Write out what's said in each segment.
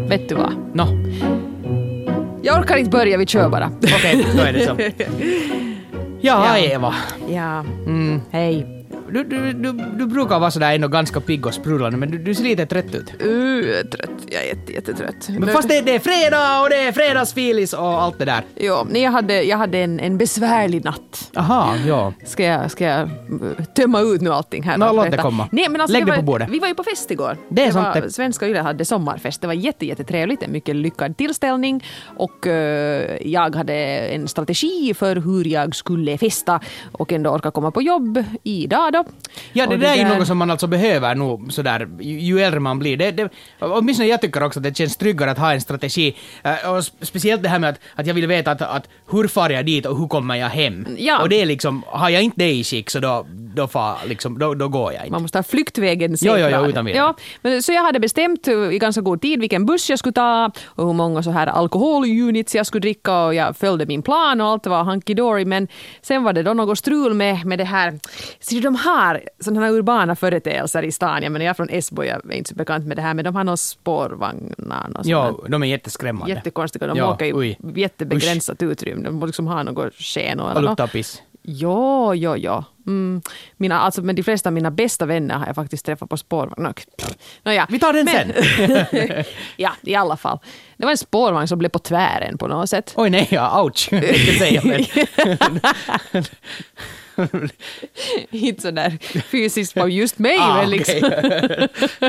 vet du vad? No. Jag orkar inte börja, vi kör bara. Okej, då är det så. Ja, Eva. Ja, hej. Du brukar vara sådär ändå ganska pigg och sprudlande, men du ser lite trött ut. Trött. Jag är jättetrött. Men fast det är fredag och det är fredagsfilis och allt det där. Ja, jag hade en besvärlig natt. Aha, ja. Ska jag tömma ut nu allting här? Låt det komma. Nej, men alltså, lägg det på bordet. Vi var ju på fest igår. Det är sant det. Svenska Yle hade sommarfest. Det var jättetrevligt. En mycket lyckad tillställning. Och jag hade en strategi för hur jag skulle festa och ändå orka komma på jobb idag då. Ja, det där är ju något som man alltså behöver nog sådär, ju äldre man blir. Åtminstone jag tycker också att det känns tryggare att ha en strategi. Och speciellt det här med att jag vill veta att hur far jag dit och hur kommer jag hem. Ja. Och det är liksom, har jag inte det i skick så då går jag inte. Man måste ha flyktvägen säkrad. Ja, utan vidare. Ja, men så jag hade bestämt i ganska god tid vilken buss jag skulle ta och hur många så här alkoholunits jag skulle dricka, och jag följde min plan och allt var hunky-dory, men sen var det då något strul med det här. Så de har sådana här urbana företeelser i stan. Jag menar, jag är från Esbo, jag är inte så bekant med det här, men de har några spårvagnar. Ja, de är jätteskrämmande. Jättekonstiga, de åker i jättebegränsat utrymme. De måste liksom ha något sken och luktar piss. Ja. Men de flesta av mina bästa vänner har jag faktiskt träffat på spårvagn. Ja. Vi tar den sen. Ja, i alla fall. Det var en spårvagn som blev på tvären på något sätt. Oj nej, ja, ouch. Det kan säga, men... Inte så där fysiskt på just mig, men liksom. Okay.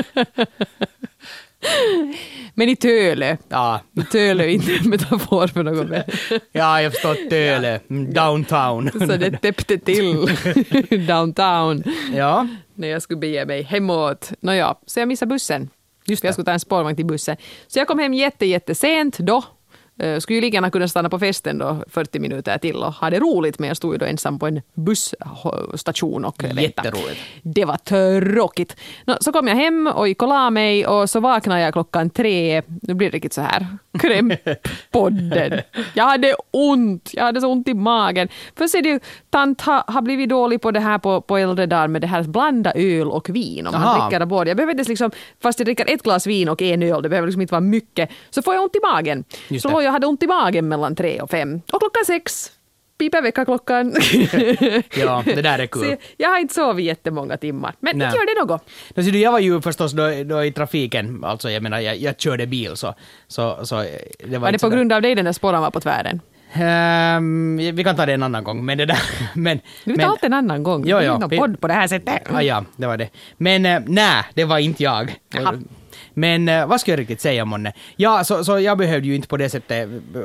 Men i Tölö. Ja. I Tölö, inte en metafor för något mer. Ja, jag förstår Tölö. Downtown. Så det täppte till downtown. Ja. När jag skulle bege mig hemåt. Nåja, så jag missade bussen. Just det. Jag skulle ta en spårvagn till bussen. Så jag kom hem jättesent då. Skulle ju lika gärna kunna stanna på festen då 40 minuter till och ha det roligt, men jag stod ju då ensam på en busstation och väntade. Jätteroligt. Det var tråkigt. Så kom jag hem och gick och la mig, och så vaknade jag 3:00. Nu blir det riktigt så här krämppodden. Jag hade så ont i magen. För så är det ju, tant har blivit dålig på det här på äldre dagar med det här blanda öl och vin. Om man dricker både. Jag behöver liksom, fast jag dricker ett glas vin och en öl, det behöver liksom inte vara mycket, så får jag ont i magen. Så jag hade ont i magen mellan 3 och 5. Och 6:00 piper väckarklockan. Ja, det där är kul. Så jag har inte sovit jättemånga timmar. Men inte gör det något. Jag var ju förstås då i trafiken. Alltså jag menar, jag körde bil så det var det på grund av dig den där spåren var på tvären? Vi kan ta det en annan gång. Men det där, du tar allt en annan gång. Ja. Det är någon podd på det här sättet. Ja, det var det. Men nej, det var inte jag. Jaha. Men vad ska jag riktigt säga, Monne? Ja, så jag behövde ju inte på det sättet,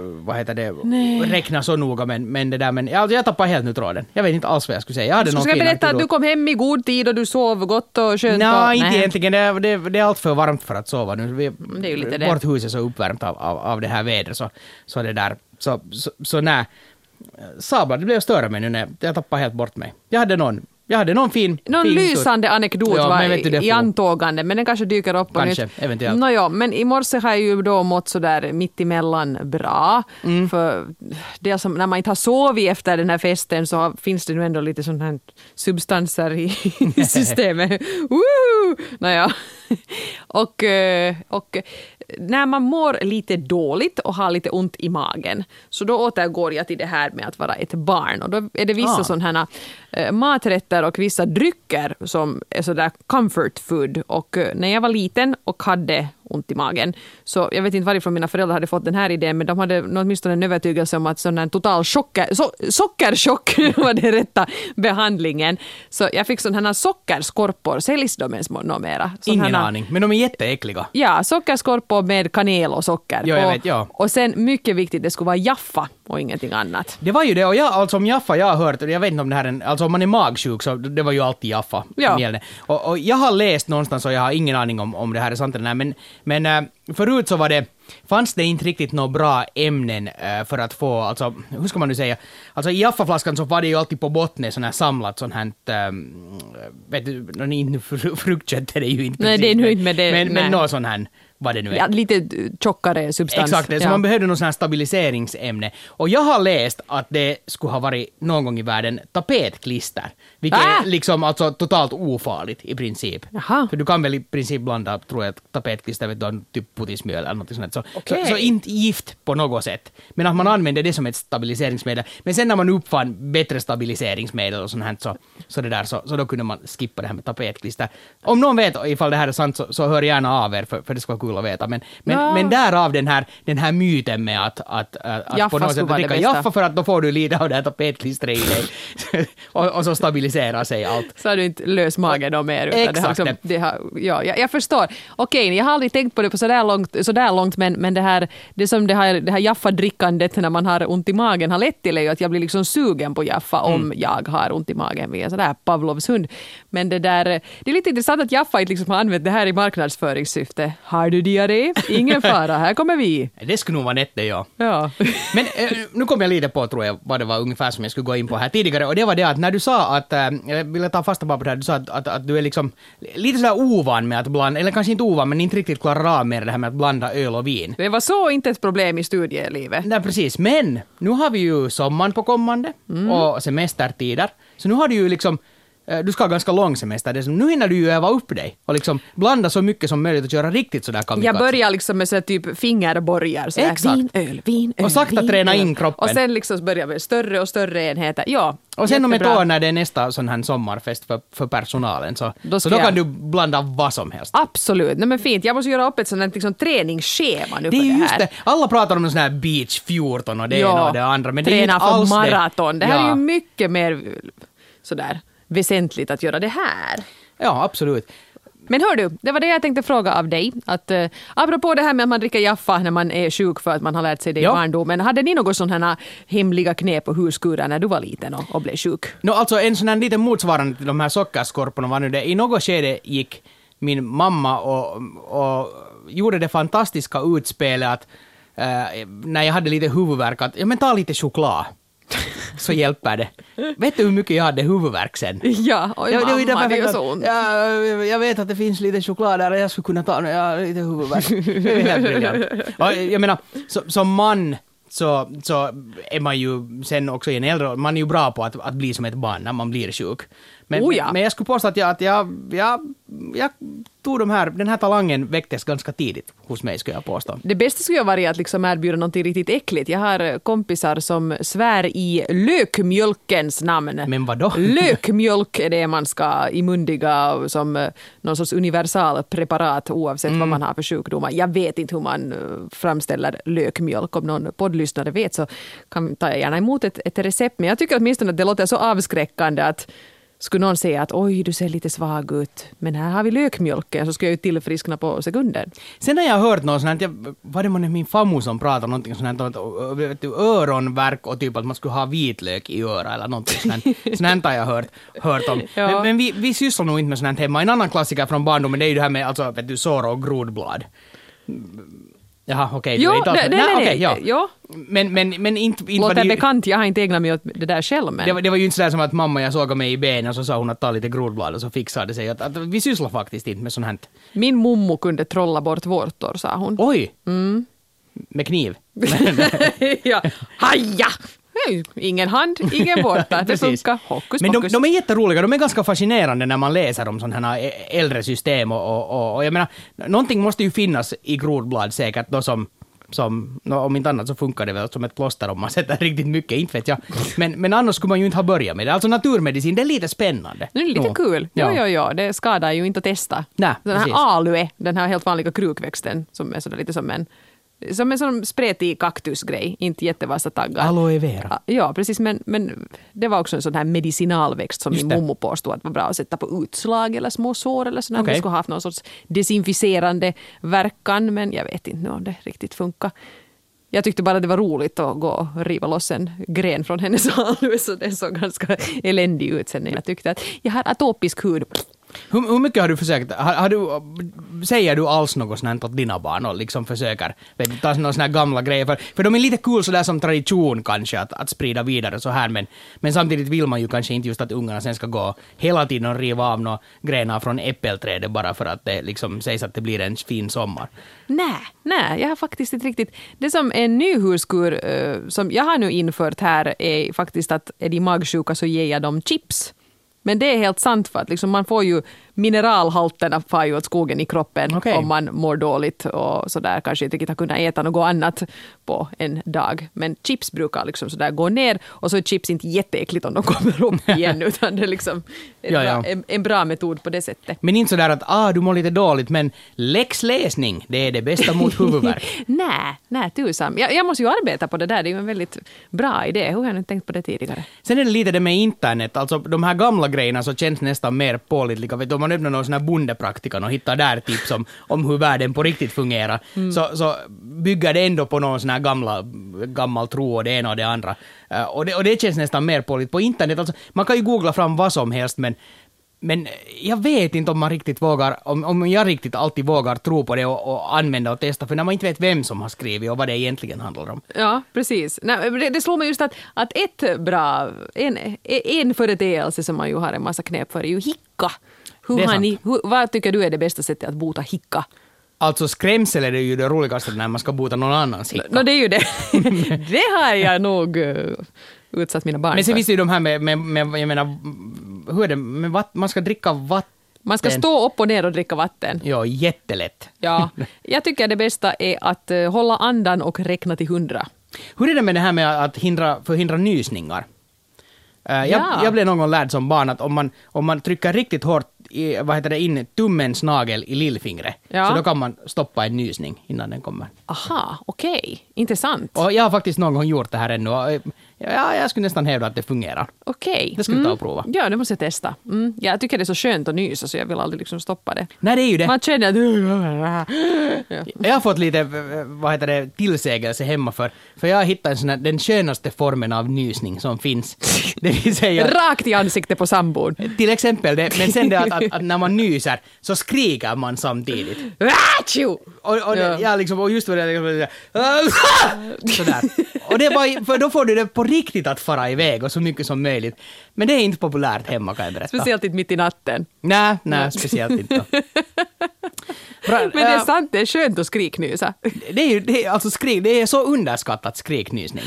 räkna så noga, men det där, men jag tappade helt nu tråden. Jag vet inte alls vad jag skulle säga. Jag hade så ska jag berätta att du kom hem i god tid och du sov gott och skönt? Nej, inte egentligen. Det är allt för varmt för att sova nu. Det är ju lite det. Vårt hus är så uppvärmt av det här vädret, så det där. Så nej. Sabla, det blev störa mig nu när jag tappade helt bort mig. Jag hade någon fin lysande anekdot i antågande, men den kanske dyker upp på kanske, nytt. Eventuellt. Nåja, men i morse har jag ju då mått så där mitt emellan bra. För det som, när man inte har sovit efter den här festen så finns det nu ändå lite sådana här substanser i systemet. Nåja. Och när man mår lite dåligt och har lite ont i magen, så då återgår jag till det här med att vara ett barn. Och då är det vissa sådana här maträtter och vissa drycker som är sådär comfort food. Och när jag var liten och hade ont i magen, så jag vet inte varifrån mina föräldrar hade fått den här idén, men de hade åtminstone en övertygelse om att sån här total sockerchock var det rätta behandlingen. Så jag fick sådana här sockerskorpor, säljs de ens nåmera? Ingen aning, men de är jätteäckliga. Ja, sockerskorpor med kanel och socker. Jo, jag vet, ja. Och sen mycket viktigt, det skulle vara Jaffa och ingenting annat. Det var ju det, och alltså om Jaffa jag har hört, jag vet inte om det här alltså om man är magsjuk så det var ju alltid Jaffa som gällde. Och jag har läst någonstans och jag har ingen aning om det här är sant eller nej, men förut så fanns det inte riktigt några bra ämnen för att få, alltså hur ska man nu säga, alltså i Jaffa-flaskan så var det ju alltid på botten sån här samlat sån här, vet du, fruktkött är det ju inte. Nej, det är nu inte med det. Men någon sån här vad det nu är. Ja, lite tjockare substans. Exakt, så man behövde någon sån här stabiliseringsämne. Och jag har läst att det skulle ha varit någon gång i världen tapetklister, vilket är liksom alltså totalt ofarligt i princip. Jaha. För du kan väl i princip blanda, tror jag, tapetklister med typ putismjöl eller något sånt. Så inte gift på något sätt. Men att man använder det som ett stabiliseringsmedel. Men sen när man uppfann bättre stabiliseringsmedel och sånt här, så då kunde man skippa det här med tapetklister. Om någon vet ifall det här är sant så hör gärna av er, för det ska vara kul att veta. Men därav den här myten med att på något sätt dricka Jaffa, för att då får du lite av det här tapetklistret i dig. och så stabiliserar sig allt. Så har du inte lös mage då mer. Exakt. Jag förstår. Okej, jag har aldrig tänkt på det på sådär långt, men det här Jaffa-drickandet när man har ont i magen har lett till att jag blir liksom sugen på Jaffa om jag har ont i magen via sådär Pavlovs hund. Men det är lite intressant att Jaffa inte liksom har använt det här i marknadsföringssyfte. Har du diarré? Ingen fara, här kommer vi. Det skulle nog vara nätt det, ja. Men nu kom jag lite på, tror jag, vad det var ungefär som jag skulle gå in på här tidigare. Och det var det att när du sa att, jag ville ta fasta på det här, du sa att du är liksom lite sådär ovan med att blanda, eller kanske inte ovan, men inte riktigt klarar av med det här med att blanda öl och vin. Det var så inte ett problem i studielivet. Nej, precis. Men nu har vi ju sommaren på kommande och semestertider. Så nu har du ju liksom, du ska ha ganska lång semester. Nu hinner du ju öva upp dig och liksom blanda så mycket som möjligt och göra riktigt sådär kamikaze. Jag börjar liksom med så typ fingerborgar. Så vin, öl, och sakta träna in kroppen. Och sen liksom börjar med större och större enheter. Ja, och sen om ett år när det är nästa sån här sommarfest för personalen så då kan du blanda vad som helst. Absolut. Nej, men fint. Jag måste göra upp ett sånt här liksom träningsschema nu för det här. Just det. Alla pratar om en sån här beach 14 och det ena och det andra. Men det är inte alls för maraton. Det här är ju mycket mer sådär väsentligt att göra det här. Ja, absolut. Men hör du, det var det jag tänkte fråga av dig. Att, apropå det här med att man dricker Jaffa när man är sjuk för att man har lärt sig det i barndomen. Hade ni något sådana här hemliga knep och huskurer när du var liten och blev sjuk? Alltså en sån här liten motsvarande till de här sockerskorporna var nu det. I något skede gick min mamma och gjorde det fantastiska utspelet att när jag hade lite huvudvärk att men ta lite choklad. Så hjälper det. Vet du hur mycket jag hade huvudvärk sen? Ja, och mamma, det är så ont. Jag vet att det finns lite choklad där och jag skulle kunna ta lite huvudvärk. Det är helt briljant. Jag menar, som man så är man ju sen också i en äldre, man är ju bra på att bli som ett barn när man blir sjuk. Men jag skulle påstå att jag tog den här talangen väcktes ganska tidigt hos mig, skulle jag påstå. Det bästa skulle vara att liksom erbjuda något riktigt äckligt. Jag har kompisar som svär i lökmjölkens namn. Men vadå? Lökmjölk är det man ska imundiga som någon sorts universalpreparat oavsett vad man har för sjukdomar. Jag vet inte hur man framställer lökmjölk. Om någon poddlyssnare vet så tar jag gärna emot ett recept. Men jag tycker åtminstone att det låter så avskräckande att skulle någon säga att oj, du ser lite svag ut, men här har vi lökmjölken, så ska jag ju tillfriskna på sekunden. Sen har jag hört något sånt här, var det min farmor som pratade någonting sånt här, öronvärk och typ att man skulle ha vitlök i öra eller någonting sånt här har jag hört om. Ja. Men vi sysslar nog inte med sånt här hemma. En annan klassiker från barndomen, det är ju det här med alltså, sår och grodblad. Jaha, okej. Ja. Men inte låter bekant, jag har inte ägnat mig åt det där själv. Men. Det var ju inte sådär som att mamma jag såg mig i benen och så sa hon att ta lite grodblad och så fixade det sig. Att vi sysslar faktiskt inte med sånt här. Min mommo kunde trolla bort vårtor, sa hon. Oj! Med kniv? Ja, haja! Ingen hand, ingen vårta. Det funkar. Hokus, men de är jätteroliga, de är ganska fascinerande när man läser om sådana här äldre system och jag menar, någonting måste ju finnas i grodblad säkert då som om inte annat så funkar det väl som ett plåster om man sätter riktigt mycket, inte vet jag. Men annars skulle man ju inte ha börjat med det. Alltså naturmedicin, det är lite spännande. Det är lite kul. Ja. Det skadar ju inte att testa. Nej, den här alue, den här helt vanliga krukväxten som är sådär lite som en sån spretig kaktusgrej, inte jättevassa taggar. Aloe vera. Ja, precis, men det var också en sån här medicinalväxt som min mommo påstod att var bra att sätta på utslag eller små sår eller sådär. Okay. Det skulle ha haft någon sorts desinficerande verkan, men jag vet inte om det riktigt funkar. Jag tyckte bara det var roligt att gå och riva loss en gren från hennes alue, så det såg ganska eländig ut sen när jag tyckte att jag har atopisk hud. Hur mycket har du försökt? Säger du alls något sånt åt dina barn och liksom försöker ta några såna här gamla grejer? För de är lite kul sådär som tradition kanske att sprida vidare så här, men samtidigt vill man ju kanske inte just att ungarna sen ska gå hela tiden och riva av några grenar från äppelträdet bara för att det liksom sägs att det blir en fin sommar. Nej, jag har faktiskt inte riktigt. Det som en ny huskur som jag har nu infört här är faktiskt att är de magsjuka så ger jag dem chips. Men det är helt sant för att liksom man får ju mineralhalterna far ju åt skogen i kroppen om man mår dåligt och sådär kanske inte riktigt har kunnat äta något annat på en dag. Men chips brukar liksom sådär gå ner och så är chips inte jätteäckligt om de kommer upp igen utan det är liksom en bra metod på det sättet. Men inte sådär att du mår lite dåligt men läxläsning, det är det bästa mot huvudvärk. Nej, tusan. Jag måste ju arbeta på det där, det är ju en väldigt bra idé. Hur har jag inte tänkt på det tidigare? Sen är det lite det med internet, alltså de här gamla grejerna så känns nästan mer pålitliga. Vet du, om man öppnar någon sån här bondepraktikan och hittar där tips om hur världen på riktigt fungerar, så bygger det ändå på någon sån här gammal tro och det ena och det andra. Och det känns nästan mer pålitligt. På internet, alltså, man kan ju googla fram vad som helst, men jag vet inte om man riktigt vågar, om jag riktigt alltid vågar tro på det och använda och testa, för när man inte vet vem som har skrivit och vad det egentligen handlar om. Ja, vad Nej, det slår mig just att en företeelse som man ju har en massa knep för är ju hicka. Vad tycker du är det bästa sättet att bota hicka? Alltså skrämsel är det ju det roligaste när man ska bota någon annans hicka. Det är ju det. Det har jag nog utsatt mina barn. Men sen finns det ju de här med jag menar, hur är det med man ska dricka vatten. Man ska stå upp och ner och dricka vatten. Ja, jättelätt. Ja, jag tycker det bästa är att hålla andan och räkna till 100. Hur är det med det här med att förhindra nysningar? Jag blev någon gång lärd som barn att om man trycker riktigt hårt in tummens nagel i lillfingret, så då kan man stoppa en nysning innan den kommer. Aha, okej. Intressant. Och jag har faktiskt någon gång gjort det här ännu. Jag skulle nästan hävda att det fungerar. Okej. Det ska vi ta och prova. Ja, det måste jag testa. Jag tycker det är så skönt att nysa så jag vill aldrig liksom stoppa det. Nej, det är ju det. Man känner att... Jag har fått lite tillsägelse hemma för jag har hittat den skönaste formen av nysning som finns. Det vill säga... Rakt i ansiktet på sambon. Till exempel det, men sen det att när man nyser så skriker man samtidigt. Och just vad det sådär. Och det är bara, för då får du det på riktigt att fara iväg och så mycket som möjligt. Men det är inte populärt hemma, kan jag berätta. Speciellt inte mitt i natten. Nej, speciellt inte. Men det är sant, det är skönt att skriknysa. Det är så underskattat skriknysning.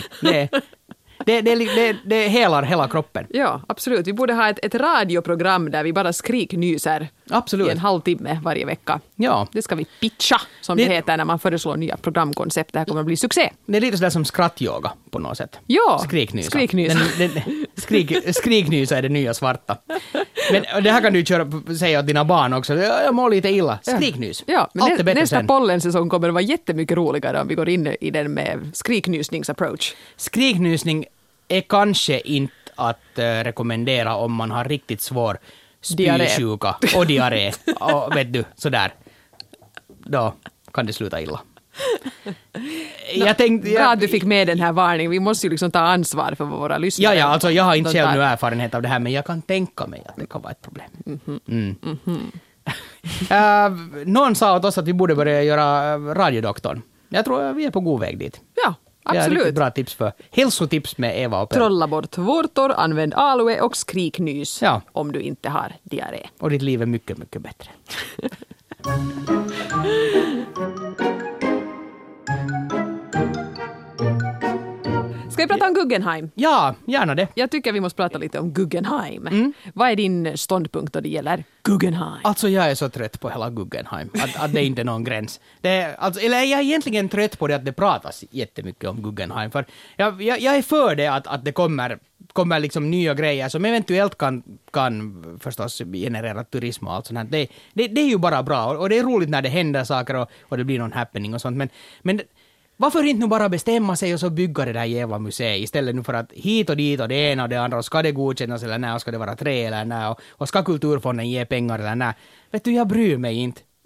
Det helar hela kroppen. Ja, absolut. Vi borde ha ett radioprogram där vi bara skriknyser i en halvtimme varje vecka. Ja. Det ska vi pitcha, som det heter när man föreslår nya programkoncept. Det här kommer att bli succé. Det är lite sådär som skrattyoga på något sätt. Ja, skriknysa. Skriknysa är det nya svarta. Men det här kan du säga åt dina barn också. Jag mår lite illa. Skriknys. Ja, men nästa pollensäsong kommer att vara jättemycket roligare om vi går in i den med skriknysningsapproach. Skriknysning är kanske inte att rekommendera om man har riktigt svår spysjuka och diarré. Och vet du, sådär. Då kan det sluta illa. Bra att du fick med den här varningen. Vi måste ju liksom ta ansvar för våra lyssnare. Ja, alltså jag har inte själv nu erfarenhet av det här, men jag kan tänka mig att det kan vara ett problem. Någon sa åt oss att vi borde börja göra radiodoktorn. Jag tror vi är på god väg dit. Ja, absolut. Det är riktigt bra tips för hälsotips med Eva och Per. Trolla bort vårtor, använd aloe och skriknys om du inte har diarré. Och ditt liv är mycket, mycket bättre. Ska vi prata om Guggenheim? Ja, gärna det. Jag tycker vi måste prata lite om Guggenheim. Vad är din ståndpunkt då det gäller Guggenheim? Alltså jag är så trött på hela Guggenheim. Att det inte är någon gräns. Eller jag är egentligen trött på det att det pratas jättemycket om Guggenheim. För jag är för det att det kommer liksom nya grejer som eventuellt kan förstås generera turism och allt sånt här. Det är ju bara bra. Och det är roligt när det händer saker och det blir någon happening och sånt. Men varför inte nu bara bestämma sig och så bygga det där jävla museet istället nu för att hit och dit och det ena och det andra och ska det godkännas eller nej och ska det vara trä eller nej och ska kulturfonden ge pengar eller nej. Vet du, jag bryr mig inte.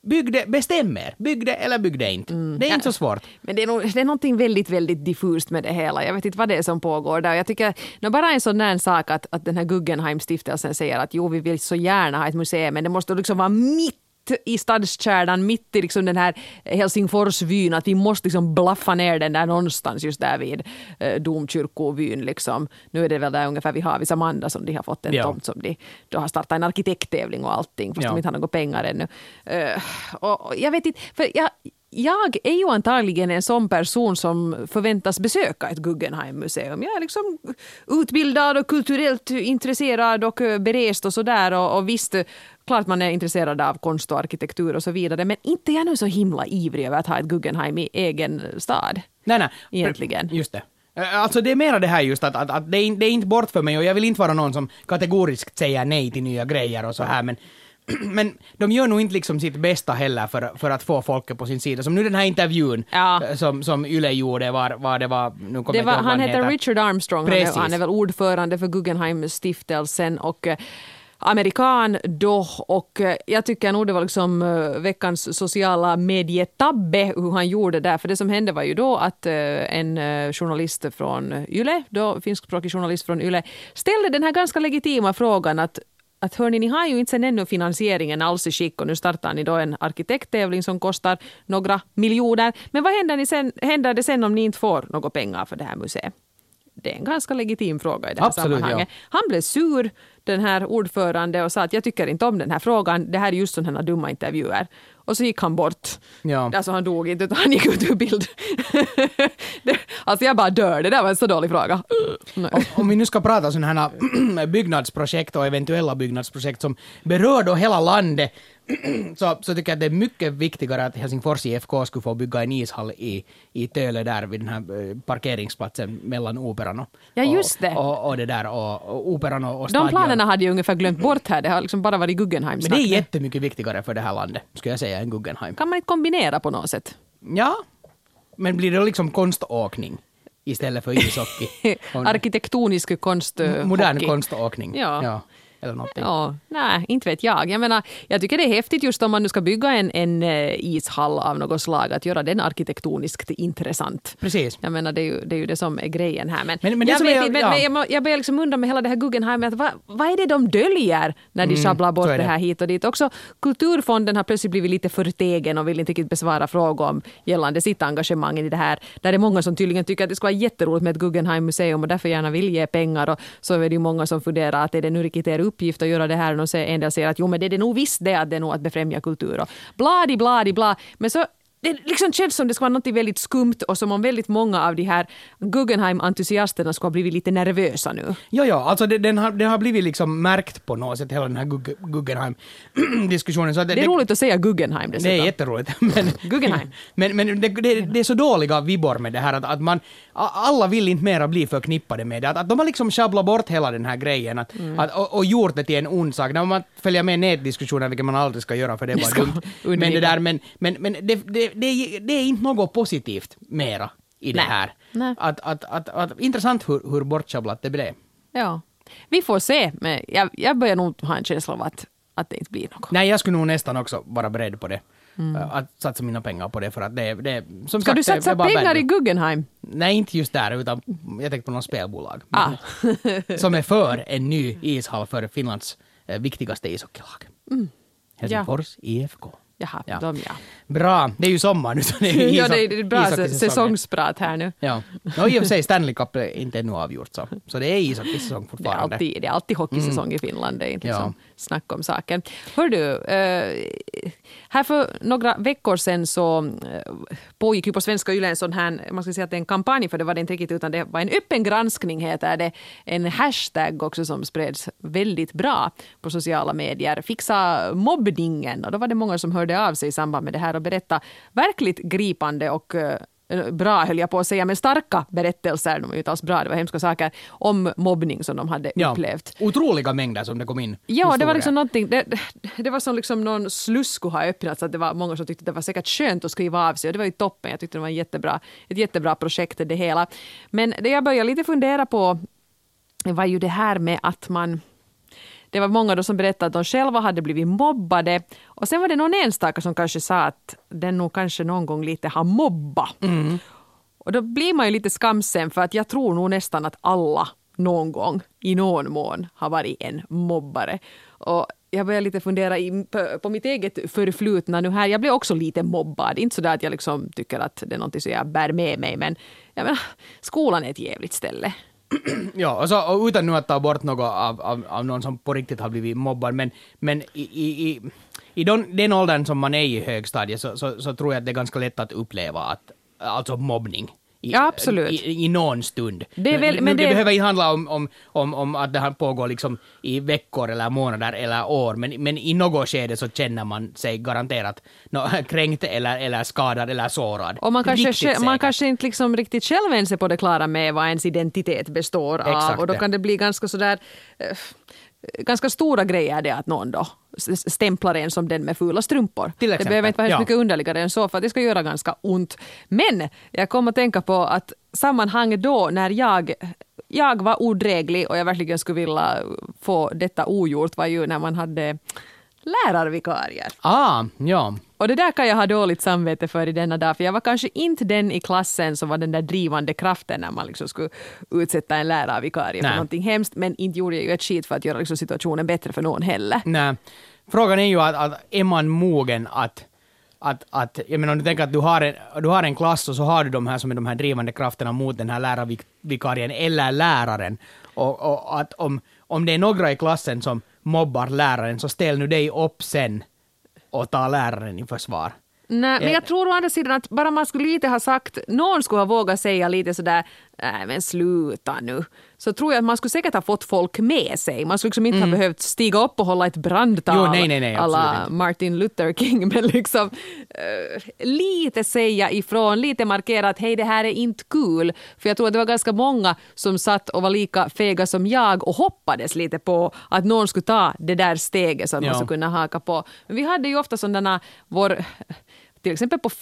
bestäm er. Bygg det eller bygg det inte. Det är inte så svårt. Men det är någonting väldigt, väldigt diffust med det hela. Jag vet inte vad det är som pågår där. Jag tycker, bara en sån där sak att den här Guggenheim-stiftelsen säger att jo, vi vill så gärna ha ett museum, men det måste liksom vara mitt i stadskärnan, mitt i liksom den här Helsingforsvyn, att vi måste liksom blaffa ner den där någonstans just där vid domkyrkovyn liksom. Nu är det väl där ungefär vi har vid Samanda som de har fått en tomt som de då har startat en arkitekttävling och allting, fast de inte har några pengar ännu. Och jag vet inte, för jag är ju antagligen en sån person som förväntas besöka ett Guggenheim-museum. Jag är liksom utbildad och kulturellt intresserad och berest och sådär. Och visst, klart man är intresserad av konst och arkitektur och så vidare. Men inte är jag nu så himla ivrig över att ha ett Guggenheim i egen stad. Nej. Egentligen. Just det. Alltså det är mera det här just att det är inte bort för mig och jag vill inte vara någon som kategoriskt säger nej till nya grejer och så här, men de gör nog inte liksom sitt bästa heller för att få folket på sin sida. Som nu den här intervjun som Yle gjorde var det var... Nu kommer jag han heter Richard Armstrong. Han är väl ordförande för Guggenheim-stiftelsen och amerikan då, och jag tycker nog det var liksom veckans sociala medietabbe hur han gjorde där, för det som hände var ju då att en journalist från Yle, då finskspråkig journalist från Yle, ställde den här ganska legitima frågan att hörni, ni har ju inte sen ännu finansieringen alls i skick och nu startar ni då en arkitekttävling som kostar några miljoner. Men vad händer det sen om ni inte får några pengar för det här museet? Det är en ganska legitim fråga i det här sammanhanget. Ja. Han blev sur, den här ordförande, och sa att jag tycker inte om den här frågan. Det här är just sådana dumma intervjuer. Och så gick han bort. Ja. Alltså han dog inte, utan han gick ut ur bild. Alltså jag bara dör. Det där var en så dålig fråga. Om vi nu ska prata om sådana här byggnadsprojekt och eventuella byggnadsprojekt som berör då hela landet, så tycker jag att det är mycket viktigare att Helsingfors IFK skulle få bygga en ishall i Töle där vid den här parkeringsplatsen mellan Operan och, och det där och Operan och stadion. De planerna hade ju ungefär glömt bort här. Det har liksom bara varit Guggenheim. Men det är jättemycket viktigare för det här landet, skulle jag säga, än Guggenheim. Kan man inte kombinera på något sätt? Ja, men blir det liksom konståkning istället för ishockey? Arkitektonisk konsthockey. Modern konståkning. Ja. Eller någonting. Ja, nej, inte vet jag. Jag menar, jag tycker det är häftigt just om man nu ska bygga en ishall av något slag, att göra den arkitektoniskt intressant. Precis. Jag menar, det är ju det som är grejen här. Men jag börjar liksom undra med hela det här Guggenheim, att vad är det de döljer när de sjabblar bort det här hit och dit? Också Kulturfonden har plötsligt blivit lite förtegen och vill inte riktigt besvara frågor om gällande sitt engagemang i det här. Där är många som tydligen tycker att det ska vara jätteroligt med ett Guggenheim-museum och därför gärna vill ge pengar, och så är det ju många som funderar att är det nu riktigt uppgift att göra det här, och en del säger att jo, men det är nog visst det är nog att befrämja kultur och bla. Men så det liksom känns som det ska vara något väldigt skumt, och som om väldigt många av de här Guggenheim-entusiasterna ska ha blivit lite nervösa nu. Ja, alltså den har blivit liksom märkt på något sätt, hela den här Guggenheim-diskussionen. Det är roligt att säga Guggenheim dessutom. Det är jätteroligt. Men, Guggenheim. Men det är så dåliga vibbor med det här, att man, alla vill inte mera bli förknippade med det. Att de har liksom sjabblat bort hela den här grejen och gjort det till en ond sak. När man följer med nätdiskussioner, vilket man aldrig ska göra, för det är bara dumt. Men det där, men det är inte något positivt mera i det här. Nej. Att intressant hur bortschabblat det blev. Ja, vi får se. Men jag börjar nog ha en känsla av att det inte blir något. Nej, jag skulle nog nästan också vara beredd på det. Att satsa mina pengar på det, för att det som ska sagt, du satsa pengar i Guggenheim? Nej, inte just där, utan jag tänkte på någon spelbolag. Som är för en ny ishall för Finlands viktigaste ishockeylag. Helsingfors IFK. Jaha, Bra, det är ju sommar nu. Så det är det är bra säsongsprat här nu. Ja, i och för sig Stanley Cup är inte ännu avgjort, så det är ishockeysäsong fortfarande. Det är alltid hockeysäsong i Finland, det är inte liksom snack om saken. Hör du, här för några veckor sedan så pågick ju på Svenska Yle en sån här, man ska säga att det är en kampanj, för det var det inte riktigt, utan det var en öppen granskning, heter det. En hashtag också som spreds väldigt bra på sociala medier. Fixa mobbningen, och då var det många som hörde av sig i samband med det här och berätta verkligt gripande och bra, höll jag på att säga, men starka berättelser, de var ju inte alls bra, det var hemska saker, om mobbning som de hade upplevt. Otroliga mängder som det kom in. Ja, det var liksom någonting, det var som liksom någon sluss skulle ha öppnats, att det var många som tyckte att det var säkert skönt att skriva av sig, och det var ju toppen, jag tyckte det var ett jättebra projekt det hela. Men det jag började lite fundera på var ju det här med att man det var många då som berättade att de själva hade blivit mobbade. Och sen var det någon enstaka som kanske sa att den nog kanske någon gång lite har mobbat. Och då blir man ju lite skamsen, för att jag tror nog nästan att alla någon gång i någon mån har varit en mobbare. Och jag börjar lite fundera på mitt eget förflutna nu här. Jag blev också lite mobbad. Inte så där att jag liksom tycker att det är något som jag bär med mig, men jag menar, skolan är ett jävligt ställe. Ja, och utan nu att ta bort något av någon som på riktigt har blivit mobbad, men i den åldern som man är i högstadiet så tror jag att det är ganska lätt att uppleva alltså mobbning. Ja, absolut. I någon stund. Det behöver inte handla om att det här pågår liksom i veckor eller månader eller år, men i något skede så känner man sig garanterat kränkt eller skadad eller sårad. Och man kanske inte liksom riktigt själv ens är på det klara med vad ens identitet består av. Exakt, och då kan det bli ganska sådär ganska stora grejer det att någon då stämplar en som den med fula strumpor. Det behöver inte vara mycket underligare än så, för att det ska göra ganska ont. Men jag kommer att tänka på att sammanhang då när jag var odräglig och jag verkligen skulle vilja få detta ogjort var ju när man hade lärarvikarier. Ja. Och det där kan jag ha dåligt samvete för i denna dag, för jag var kanske inte den i klassen som var den där drivande kraften när man liksom skulle utsätta en lärarvikarie för någonting hemskt, men inte gjorde jag ju ett skit för att göra liksom situationen bättre för någon heller. Nej. Frågan är ju att är man mogen att jag menar, om du tänker att du har en klass och så har du de här som är de här drivande krafterna mot den här lärarvikarien eller läraren, och att om det är några i klassen som mobbar läraren, så ställ nu dig upp sen och ta läraren i försvar. Nej, men jag tror å andra sidan att bara man skulle lite ha sagt, någon skulle ha vågat säga lite sådär, nej men sluta nu. Så tror jag att man skulle säkert ha fått folk med sig. Man skulle liksom inte ha behövt stiga upp och hålla ett brandtal nej, alla Martin Luther King, men liksom lite säga ifrån, lite markera att hej, det här är inte kul. För jag tror att det var ganska många som satt och var lika fega som jag och hoppades lite på att någon skulle ta det där steget så att man skulle kunna haka på. Men vi hade ju ofta sådana till exempel på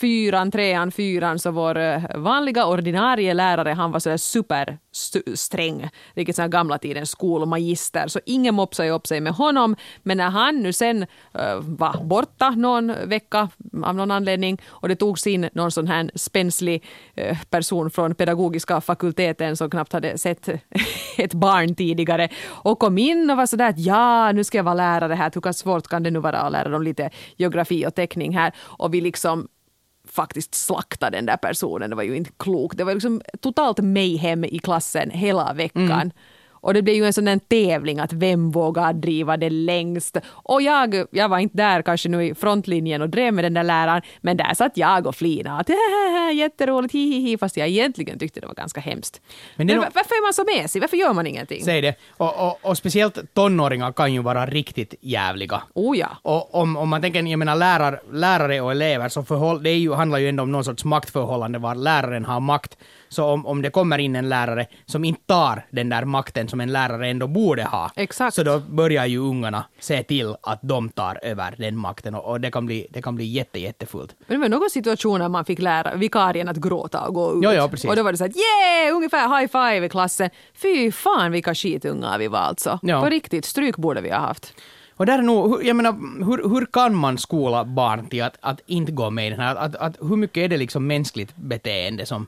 4 så vår vanliga ordinarie lärare, han var så där supersträng, riktigt så här gamla tidens skolmagister, så ingen mopsade upp sig med honom, men när han nu sen var borta någon vecka av någon anledning och det togs in någon sån här spänslig person från pedagogiska fakulteten som knappt hade sett ett barn tidigare och kom in och var sådär att ja, nu ska jag vara lärare här, hur svårt kan det nu vara att lära dem lite geografi och teckning här, och vi liksom faktiskt slakta den där personen. Det var ju inte klokt. Det var liksom totalt mayhem i klassen hela veckan. Och det blev ju en sån tävling att vem vågar driva det längst. Och jag var inte där kanske nu i frontlinjen och drev med den där läraren, men där satt jag och flina att jätteroligt, hihihi, fast jag egentligen tyckte det var ganska hemskt. Men varför är man så mesig? Varför gör man ingenting? Säg det. Och speciellt tonåringar kan ju vara riktigt jävliga. Oh ja. Och om man tänker, jag menar lärare och elever, så det handlar ju ändå om någon sorts maktförhållande var läraren har makt. Så om det kommer in en lärare som inte tar den där makten som en lärare ändå borde ha, exakt, så då börjar ju ungarna se till att de tar över den makten, och det kan bli jättefullt. Men det var någon situation när man fick lära vikarien att gråta och gå ut. Ja, precis. Och då var det så att yeah, ungefär high five i klassen. Fy fan vilka skitungar vi var alltså. Ja. På riktigt, stryk borde vi ha haft. Och där är nog, jag menar, hur kan man skola barn till att inte gå med i den här, att hur mycket är det liksom mänskligt beteende som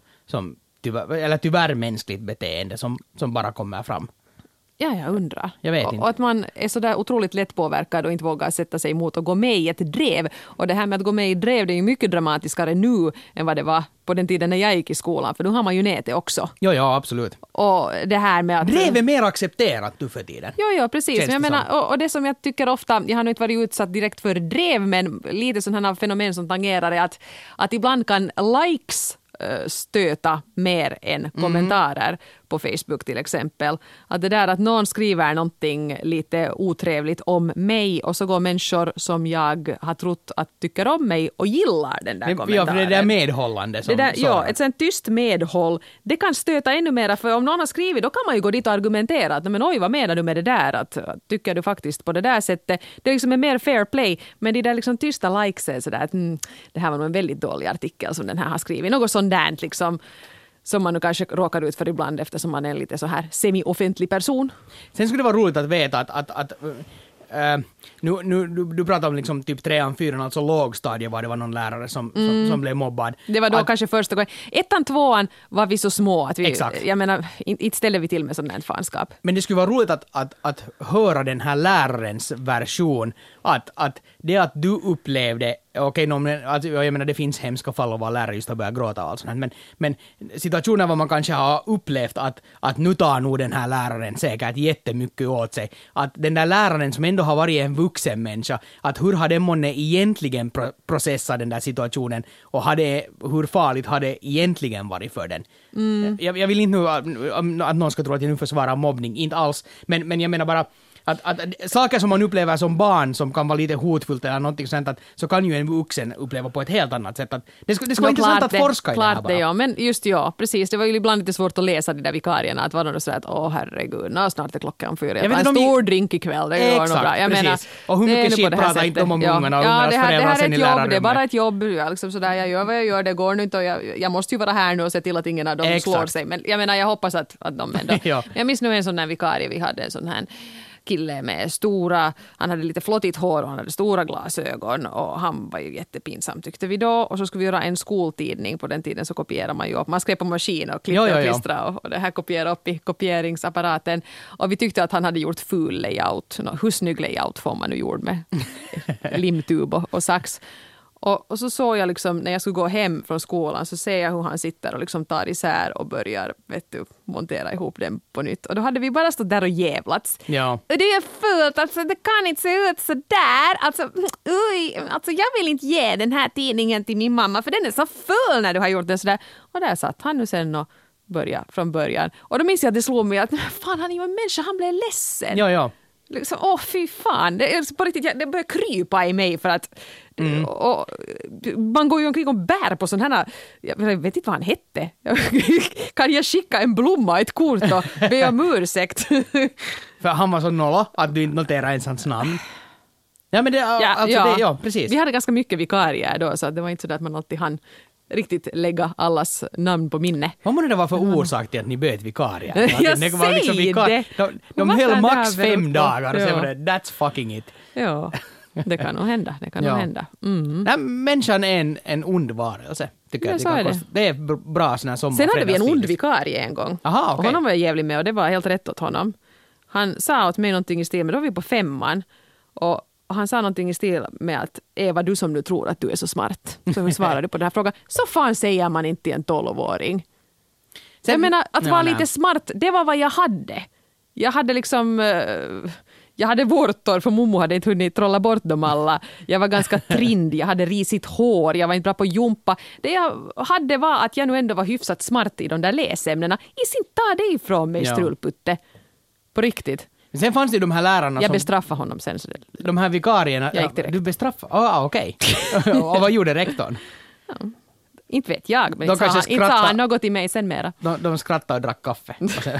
tyvärr mänskligt beteende som bara kommer fram? Ja, jag undrar. Jag vet inte. Och att man är så där otroligt lätt påverkad och inte vågar sätta sig emot och gå med i ett drev. Och det här med att gå med i drev, det är ju mycket dramatiskare nu än vad det var på den tiden när jag gick i skolan. För då har man ju nätet också. Ja, absolut. Och det här med att... Drev är mer accepterat nu för tiden. Ja, precis. Men jag menar, och det som jag tycker ofta, jag har nog inte varit utsatt direkt för drev, men lite sådana här fenomen som tangerar är att ibland kan likes stöta mer än kommentarer på Facebook till exempel. Att det där att någon skriver någonting lite otrevligt om mig och så går människor som jag har trott att tycker om mig och gillar den där kommentaren. Ja, för det där medhållande som ja, ett sånt tyst medhåll, det kan stöta ännu mer, för om någon har skrivit, då kan man ju gå dit och argumentera att men oj, vad menar du med det där? Att tycker du faktiskt på det där sättet? Det är liksom en mer fair play, men det där liksom tysta likes är sådär att det här var nog en väldigt dålig artikel som den här har skrivit. Något sånt där liksom. som man nu kanske råkar ut för ibland eftersom man är en lite så här semi-offentlig person. Sen skulle det vara roligt att veta att du pratar om liksom typ 3:an, 4:an, alltså lågstadie var det var någon lärare som blev mobbad. Det var då kanske första gången. 1:an, 2:an var vi så små att vi, exakt. Jag menar, inte ställer vi till med sån här fanskap. Men det skulle vara roligt att höra den här lärarens version, att det att du upplevde, okej, jag menar det finns hemska fall av vad lärare just har börjat gråta och allt sånt här, men situationer var man kanske har upplevt att nu tar nog den här läraren säkert jättemycket åt sig. Att den där läraren som ändå har varit en vuxen människa, att hur har den månne egentligen processat den där situationen och hur farligt har det egentligen varit för den. Jag vill inte nu att någon ska tro att jag nu försvarar mobbning, inte alls, men jag menar bara att saker som man upplever som barn som kan vara lite hotfullt eller någonting sånt, att så kan ju en vuxen uppleva på ett helt annat sätt. Att det skulle vara intressant att forska i det här bara. Det, ja. Men just precis. Det var ju ibland lite svårt att läsa de där vikarierna. Att var de så att herregud, snart är klockan 4. Jag tar en stor drink ikväll. Det går nog bra. Jag menar, och hur mycket skit pratar inte om ungarna och ungarnas föräldrar sen i lärarrummet. Det är bara ett jobb. Liksom sådär, jag gör vad jag gör, det går nu inte och jag måste ju vara här nu och se till att ingen av dem slår sig. Men jag menar, jag hoppas att de ändå... Jag minns nu en sån här vikarie vi hade, en sån här kille med han hade lite flottigt hår och han hade stora glasögon och han var ju jättepinsam tyckte vi då, och så skulle vi göra en skoltidning. På den tiden så kopierar man ju upp, man skrev på maskin och klippte och klistra och det här kopierade upp i kopieringsapparaten, och vi tyckte att han hade gjort ful layout. Hur snygg layout får man nu gjord med limtub och sax. Och så såg jag liksom, när jag skulle gå hem från skolan, så ser jag hur han sitter och liksom tar isär och börjar montera ihop den på nytt. Och då hade vi bara stått där och jävlats. Ja. Och det är fult, alltså det kan inte se ut så där. Alltså jag vill inte ge den här tidningen till min mamma för den är så full när du har gjort den så där. Och där satt han nu sen och började från början. Och då minns jag att det slog mig att fan, han är ju en människa, han blev ledsen. Ja. Liksom, fy fan, det börjar krypa i mig för att och man går ju omkring och bär på sån här, jag vet inte vad han hette. Kan jag skicka en blomma, ett kort och be om ursäkt? För han var så nolla att du inte noterar ens hans namn. Ja, men det, precis. Vi hade ganska mycket vikarier då, så det var inte så att man alltid hann riktigt lägga allas namn på minne. Vad måste det vara för orsak till att ni bytte vikarier? Jag säger det! De höll max 5 dagar och sen var det, that's fucking it. Ja, det kan nog hända. Hända. Mm. Nej, människan är en ond varelse, tycker jag. Det är bra sån här sommar. Sen hade vi en ond vikarie en gång. Aha, okay. Och honom var jag jävlig med och det var helt rätt åt honom. Han sa åt mig någonting i stil, men då var vi på 5:an och han sa någonting i stil med att Eva, du som nu tror att du är så smart. Så vi svarade på den här frågan. Så fan säger man inte till en 12-åring. Jag menar, att vara lite smart, det var vad jag hade. Jag hade liksom... Jag hade vårtor för mommo hade inte hunnit trolla bort dem alla. Jag var ganska trind, jag hade risigt hår, jag var inte bra på jumpa. Det jag hade var att jag nu ändå var hyfsat smart i de där läsämnena. Inte ta det ifrån mig, strulputte. På riktigt. Sen fanns det de här lärarna jag bestraffade honom sen. Så de här vikarierna... Jag gick direkt. Du bestraffade? Okej. Och vad gjorde rektorn? Ja. Inte vet jag, men inte sa han något i mig sen mera. De skrattade och drack kaffe.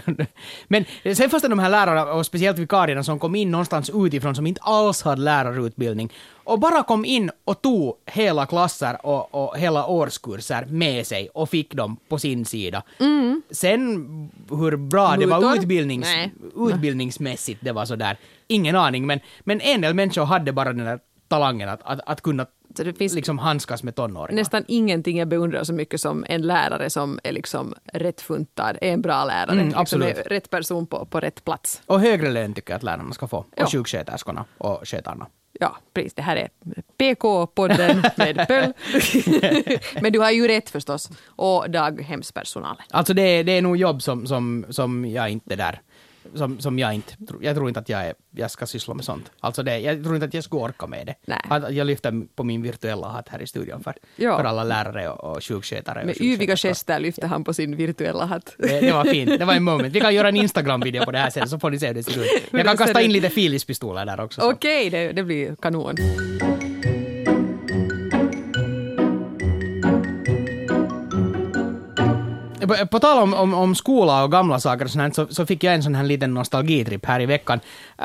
Men sen fanns det de här lärarna, och speciellt vikarierna, som kom in någonstans utifrån som inte alls hade lärarutbildning. Och bara kom in och tog hela klasser och hela årskurser med sig och fick dem på sin sida. Mm. Sen hur bra det var utbildningsmässigt, det var sådär. Ingen aning, men en del människor hade bara den där talangen att kunna så det finns liksom handskas med tonåringar. Nästan ingenting jag beundrar så mycket som en lärare som är liksom rätt funtad, är en bra lärare. Absolut. Liksom är rätt person på rätt plats. Och högre lön tycker jag att lärarna ska få. Och sjuksköterskorna och skötarna. Ja, precis. Det här är PK-podden med Pöll. Men du har ju rätt förstås. Och daghemspersonalen. Alltså det är nog jobb som jag inte är där. Som jag tror inte att jag ska syssla med sånt. Alltså jag tror inte att jag ska orka med det. Nej. Att jag lyfter på min virtuella hatt här i studion för alla lärare och sjukskötare. Med yviga gester lyfter han på sin virtuella hatt. Det var fint, det var en moment. Vi kan göra en Instagram-video på det här sen så får ni se hur det ser ut. Jag kan kasta in lite Philips-pistoler där också. Okej, det blir kanon. På tal om skola och gamla saker och sånt, så fick jag en sån här liten nostalgitripp här i veckan.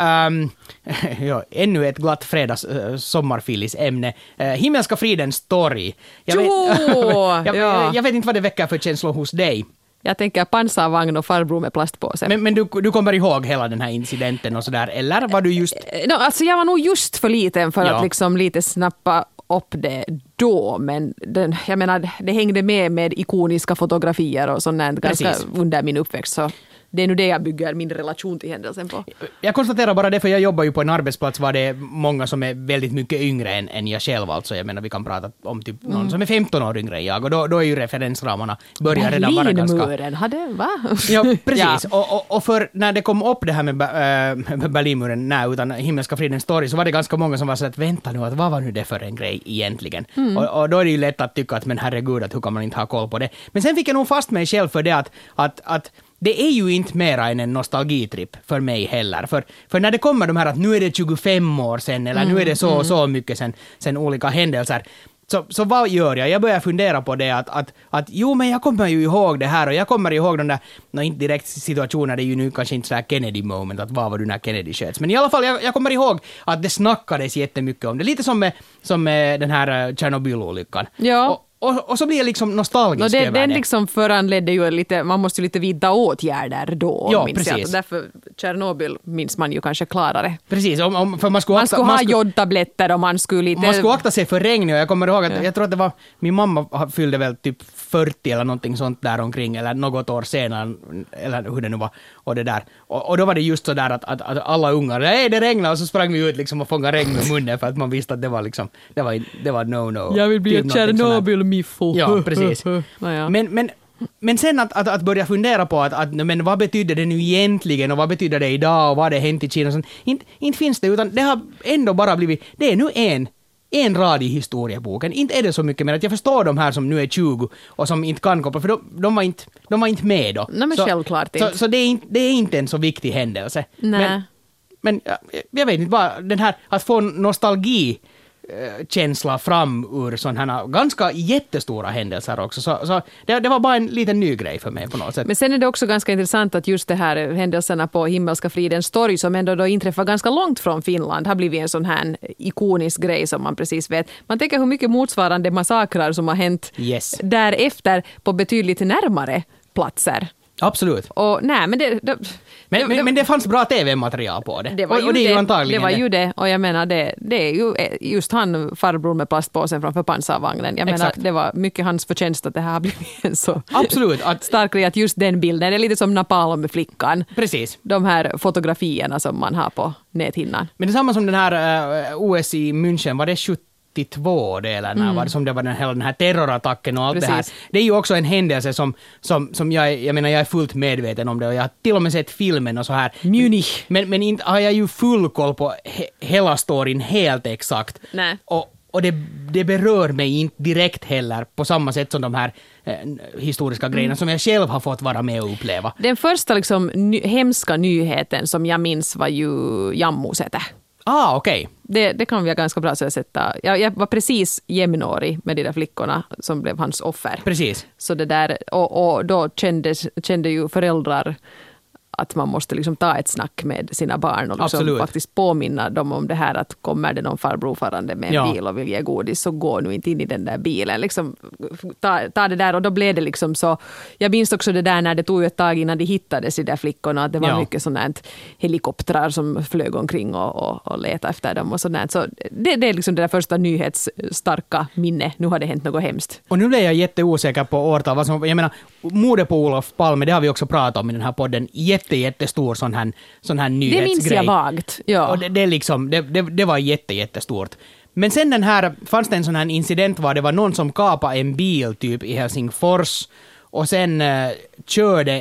Ännu ett glatt fredags sommarfilisämne. Himmelska fridens torg. Jag vet inte vad det väcker för känslor hos dig. Jag tänker pansarvagn och farbror med plastpåse. Men du kommer ihåg hela den här incidenten och sådär, eller var du just... Alltså jag var nog just för liten för att liksom lite snappa upp det då, men jag menar, det hängde med ikoniska fotografier och sånt ganska under min uppväxt, så det är nu det jag bygger min relation till händelsen på. Jag konstaterar bara det, för jag jobbar ju på en arbetsplats var det är många som är väldigt mycket yngre än jag själv. Alltså jag menar, vi kan prata om typ någon som är 15 år yngre än jag, och då är ju referensramarna börjar redan vara ganska... Berlinmuren, va? Ja, precis. Ja. Och för när det kom upp det här med Berlinmuren, utan Himmelska fridens torg, så var det ganska många som var så att vänta nu, att vad var nu det för en grej egentligen? Och då är det ju lätt att tycka att men herregud, att hur kan man inte ha koll på det? Men sen fick jag nog fast mig själv för det att det är ju inte mera än en nostalgitripp för mig heller. För när det kommer de här att nu är det 25 år sedan eller nu är det så mycket sen olika händelser. Så vad gör jag? Jag börjar fundera på det att jo, men jag kommer ju ihåg det här, och jag kommer ihåg de där, inte direkt situationer, det är ju nu kanske inte så här Kennedy moment, att vad var du när Kennedy sköts. Men i alla fall, jag kommer ihåg att det snackades jättemycket om det. Lite som med den här Tjernobyl-olyckan. Ja. Och så blir jag liksom nostalgisk över det. Den liksom föranledde ju lite, man måste ju lite vidta åtgärder då. Ja, minns precis. jag. Därför Tjernobyl minns man ju kanske klarare. Precis, för man skulle ha jodtabletter och man skulle lite... Man skulle akta sig för regn, och jag kommer ihåg att jag tror att det var, min mamma fyllde väl typ 40 eller någonting sånt där omkring, eller något år senare, eller hur det nu var, och det där. Och då var det just så där att alla ungar, det regnar, och så sprang vi ut liksom och fångade regn med munnen, för att man visste att det var liksom, det var no. Jag vill bli ett Tjernobyl-miffo. Ja, precis. Naja. Men sen att börja fundera på men vad betyder det nu egentligen, och vad betyder det idag, och vad har det hänt i Kina? Inte finns det, utan det har ändå bara blivit, det är nu en rad i historieboken. Inte är det så mycket mer att jag förstår de här som nu är 20 och som inte kan koppla, för de var inte med då. Nej, men självklart inte. Så det är inte en så viktig händelse. Nej. Men jag vet inte, bara den här att få nostalgi känsla fram ur sådana här ganska jättestora händelser också. Så det var bara en liten ny grej för mig på något sätt. Men sen är det också ganska intressant att just det här händelserna på Himmelska fridens torg, som ändå då inträffar ganska långt från Finland, har blivit en sån här ikonisk grej som man precis vet. Man tänker hur mycket motsvarande massakrar som har hänt därefter på betydligt närmare platser. Absolut. Och men det fanns bra tv-material på det. Det var ju det. Och jag menar, det är ju just han, farbror med plastpåsen framför pansarvagnen. Jag menar, det var mycket hans förtjänst att det här har blivit en så stark grej, att just den bilden, det är lite som Napalm-flickan. Precis. De här fotografierna som man har på näthinnan. Men det är samma som den här OS i München, var det 72 det, eller när var det som det var den här terrorattacken och allt det här. Det är ju också en händelse som jag är fullt medveten om det, och jag har till och med sett filmen och så här. Munich. Men inte har jag ju full koll på hela storyn helt exakt. Nej. Och det berör mig inte direkt heller på samma sätt som de här historiska grejerna som jag själv har fått vara med och uppleva. Den första liksom hemska nyheten som jag minns var ju Jammusäte. Okej. Det kan vi ganska bra sätta. Jag var precis jämnårig med de där flickorna som blev hans offer. Precis. Så det där, och då kände ju föräldrar att man måste liksom ta ett snack med sina barn och liksom faktiskt påminna dem om det här, att kommer det någon farbror farande med en bil och vill ge godis, så gå nu inte in i den där bilen. Liksom, ta det där, och då blev det liksom så. Jag minns också det där när det tog ett tag innan de hittades i de där flickorna, att det var mycket sådant helikoptrar som flög omkring och letade efter dem och sådant. Så det är liksom det där första nyhetsstarka minne. Nu har det hänt något hemskt. Och nu blev jag jätteosäker på årtal. Jag menar, mordet på Olof Palme, det har vi också pratat om i den här podden. Jättestor sån här nyhetsgrej. Det minns jag vagt. Ja. Och det var jättestort. Men sen fanns det en sån här incident var det var någon som kapade en bil typ i Helsingfors och sen körde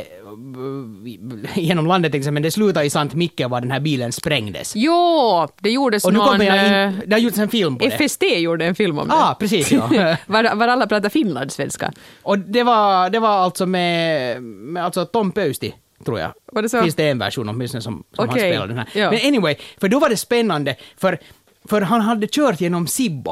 genom landet, men det slutade i Sant Micke var den här bilen sprängdes. Jo, det gjordes och nu det har gjorts en film på det. FST gjorde en film om det. Precis, ja. var alla pratar finlandssvenska. Och det var alltså med alltså Tom Pöysti, tror jag. Var det så? Finns det en version åtminstone som han spelade den här. Ja. Men anyway, för då var det spännande, för han hade kört genom Sibbo.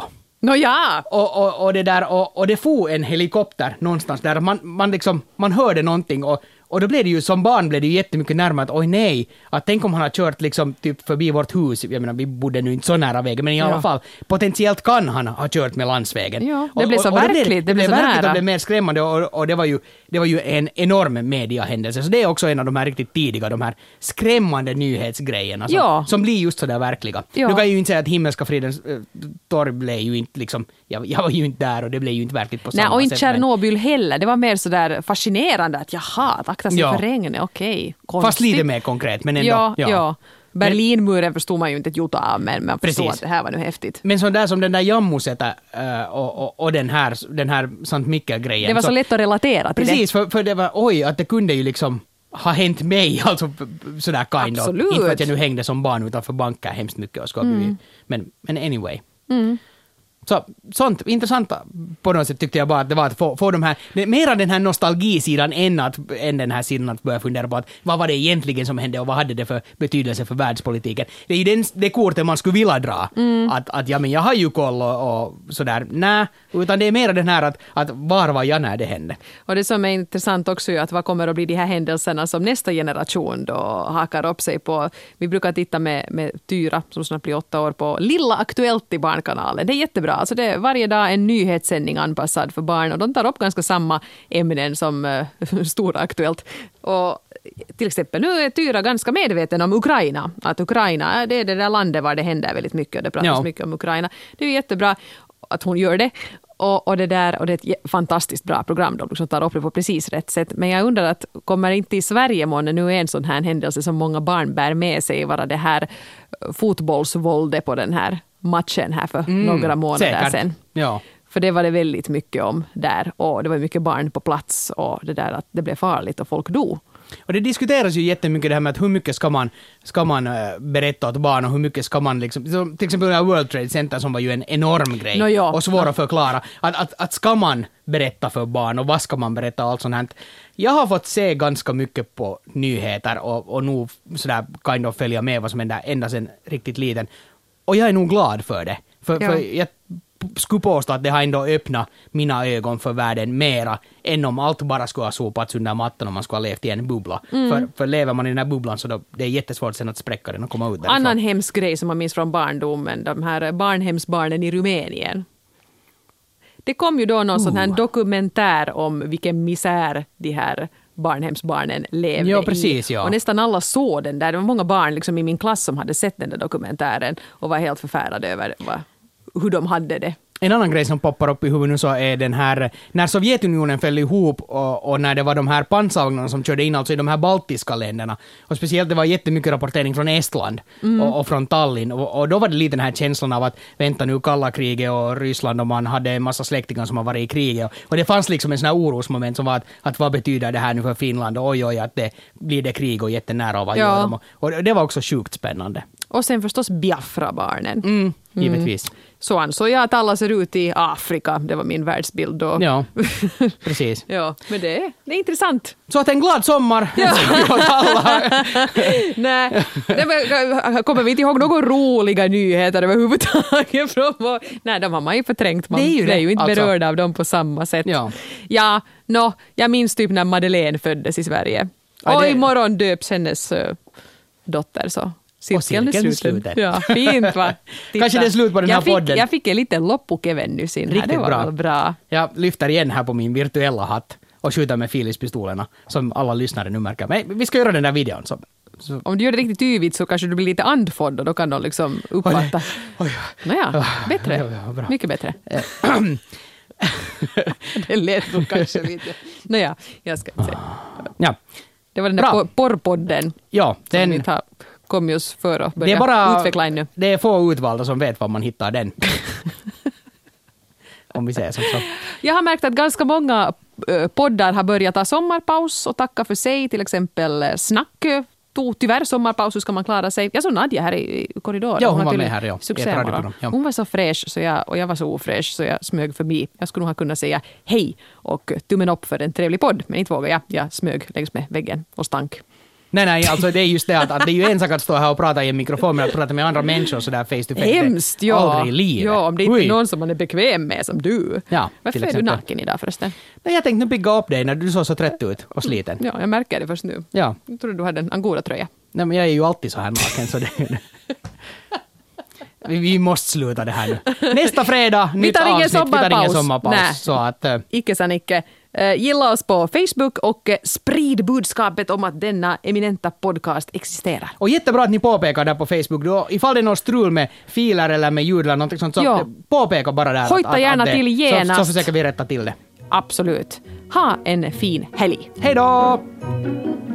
Och det där, och det får en helikopter någonstans där man hörde någonting och Och då blev det ju, som barn blev det ju jättemycket närmare att oj nej, att tänk om han har kört liksom typ förbi vårt hus, jag menar vi bodde nu inte så nära vägen, men i alla fall, potentiellt kan han ha kört med landsvägen. Ja, det blev så verkligt, det blev så verkligt nära. och blev mer skrämmande och det var ju en enorm mediahändelse. Så det är också en av de här riktigt tidiga, de här skrämmande nyhetsgrejerna som blir just så där verkliga. Ja. Nu kan jag ju inte säga att Himmelska fridens torg blev ju inte liksom, jag var ju inte där och det blev ju inte verkligt på samma sätt. Nej, och inte Tjernobyl heller. Det var mer så där fascinerande att jaha, akta sig för regnet, okej. Konstigt. Fast lite mer konkret, men ändå. Ja. Berlinmuren förstod man ju inte ett jota av, men man förstod att det här var nu häftigt. Men så där som den där Jammusätä och den här Sankt Mikkel-grejen. Det var så lätt att relatera till precis, det. Precis, för det var, att det kunde ju liksom ha hänt mig, alltså sådär kind of. Inte för att jag nu hängde som barn utanför banker hemskt mycket och men anyway. Så, sånt intressant på något sätt tyckte jag bara att det var att få de här, mera den här nostalgisidan än den här sidan att börja fundera på att vad var det egentligen som hände och vad hade det för betydelse för världspolitiken. Det är ju det kortet man skulle vilja dra. Att ja, men jag har ju koll och sådär. Nej, utan det är mera den här att var var jag när det hände. Och det som är intressant också är att vad kommer att bli de här händelserna som nästa generation då hakar upp sig på. Vi brukar titta med Tyra som snart blir 8 år på Lilla Aktuellt i Barnkanalen. Det är jättebra. Alltså det är varje dag en nyhetssändning anpassad för barn och de tar upp ganska samma ämnen som Stora Aktuellt. Och till exempel nu är Tyra ganska medveten om Ukraina. Att Ukraina det är det där landet var det händer väldigt mycket och det pratas mycket om Ukraina. Det är jättebra att hon gör det. Och det är ett fantastiskt bra program. De liksom tar upp det på precis rätt sätt. Men jag undrar att kommer inte i Sverige månne nu en sån här händelse som många barn bär med sig vara det här fotbollsvåldet på den här matchen här för några månader sedan. Ja. För det var det väldigt mycket om där och det var mycket barn på plats och det där att det blev farligt och folk dog. Och det diskuteras ju jättemycket det här med att hur mycket ska man berätta åt barn och hur mycket ska man liksom, till exempel det här World Trade Center som var ju en enorm grej och svår att förklara. Att ska man berätta för barn och vad ska man berätta och allt sånt här. Jag har fått se ganska mycket på nyheter och nog sådär kind of följa med vad som händer ända sedan riktigt liten. Och jag är nog glad för det. För jag skulle påstå att det har ändå öppnat mina ögon för världen mera än om allt bara skulle ha sopats under mattan om man skulle ha levt i en bubbla. För lever man i den här bubblan så det är jättesvårt sen att spräcka den och komma ut därifrån. Annan hemsk grej som man minns från barndomen, de här barnhemsbarnen i Rumänien. Det kom ju då någon sån här dokumentär om vilken misär de här barnhemsbarnen levde i. Och nästan alla såg den där. Det var många barn liksom i min klass som hade sett den där dokumentären och var helt förfärade över hur de hade det. En annan grej som poppar upp i huvudet nu så är den här, när Sovjetunionen föll ihop och när det var de här pansarvagnarna som körde in alltså i de här baltiska länderna. Och speciellt det var jättemycket rapportering från Estland och från Tallinn. Och då var det lite den här känslan av att vänta nu kalla kriget och Ryssland och man hade en massa släktingar som har varit i kriget. Och det fanns liksom en sån här orosmoment som var att vad betyder det här nu för Finland? Och oj, att det blir det krig och jättenära av att göra dem. Och det var också sjukt spännande. Och sen förstås Biafra-barnen. Givetvis. Så ansåg jag att alla ser ut i Afrika. Det var min världsbild då. Ja, precis. Ja, men det är intressant. Så att en glad sommar. Ja. Nej, kommer vi inte ihåg några roliga nyheter överhuvudtaget? Nej, de har man ju förträngt. Man är ju inte berörd av dem på samma sätt. Jag minns typ när Madeleine föddes i Sverige. Och imorgon döps hennes dotter så. Cirkeln är sluten. Ja, fint va? Kanske det är slut på den här podden. Jag fick en liten loppukeven nu sin. Riktigt det var bra. Jag lyfter igen här på min virtuella hatt och skjuter med Philips-pistolerna som alla lyssnare nu märker. Men vi ska göra den där videon. Så. Om du gör det riktigt yvigt så kanske du blir lite andfådd och då kan de liksom uppfatta. Nåja, bättre. Ja, mycket bättre. Det lät nog kanske lite. Nåja, jag ska se. Ja. Det var den där porrpodden. Ja, den kom just för att börja utveckla ännu. Det är få utvalda som vet var man hittar den. Om vi säger så. Jag har märkt att ganska många poddar har börjat ta sommarpaus och tacka för sig. Till exempel Snack tog tyvärr sommarpaus, hur ska man klara sig? Jag såg Nadja här i korridoren. Ja, hon var med här. Ja. Hon var så fräsch och jag var så ofräsch så jag smög förbi. Jag skulle nog ha kunnat säga hej och tummen upp för en trevlig podd. Men inte vågade jag. Jag smög längs med väggen och stank. Nej, alltså det är just det att det är ju en sak att stå här och prata i en mikrofon, men att prata med andra människor sådär face to face. Hemskt, ja. Aldrig i livet. Ja, om det inte är någon som man är bekväm med som du. Ja, varför är du naken idag förresten? Nej, jag tänkte nu pigga upp dig när du såg så trött ut och sliten. Ja, jag märker det först nu. Ja. Jag trodde du hade en Angora-tröja. Nej, men jag är ju alltid så här naken, så det... Vi måste sluta det här nu. Nästa fredag, nytt avsnitt. Vi tar ingen sommarpaus. Nej, så att, icke sa Nicke. Gilla oss på Facebook och sprid budskapet om att denna eminenta podcast existerar. Och jättebra att ni påpekar där på Facebook. Då, ifall det är något strul med filer eller med ljud eller något sånt, så påpeka bara där. Hojta gärna till genast. Så försöker vi rätta till det. Absolut. Ha en fin helg. Hej då!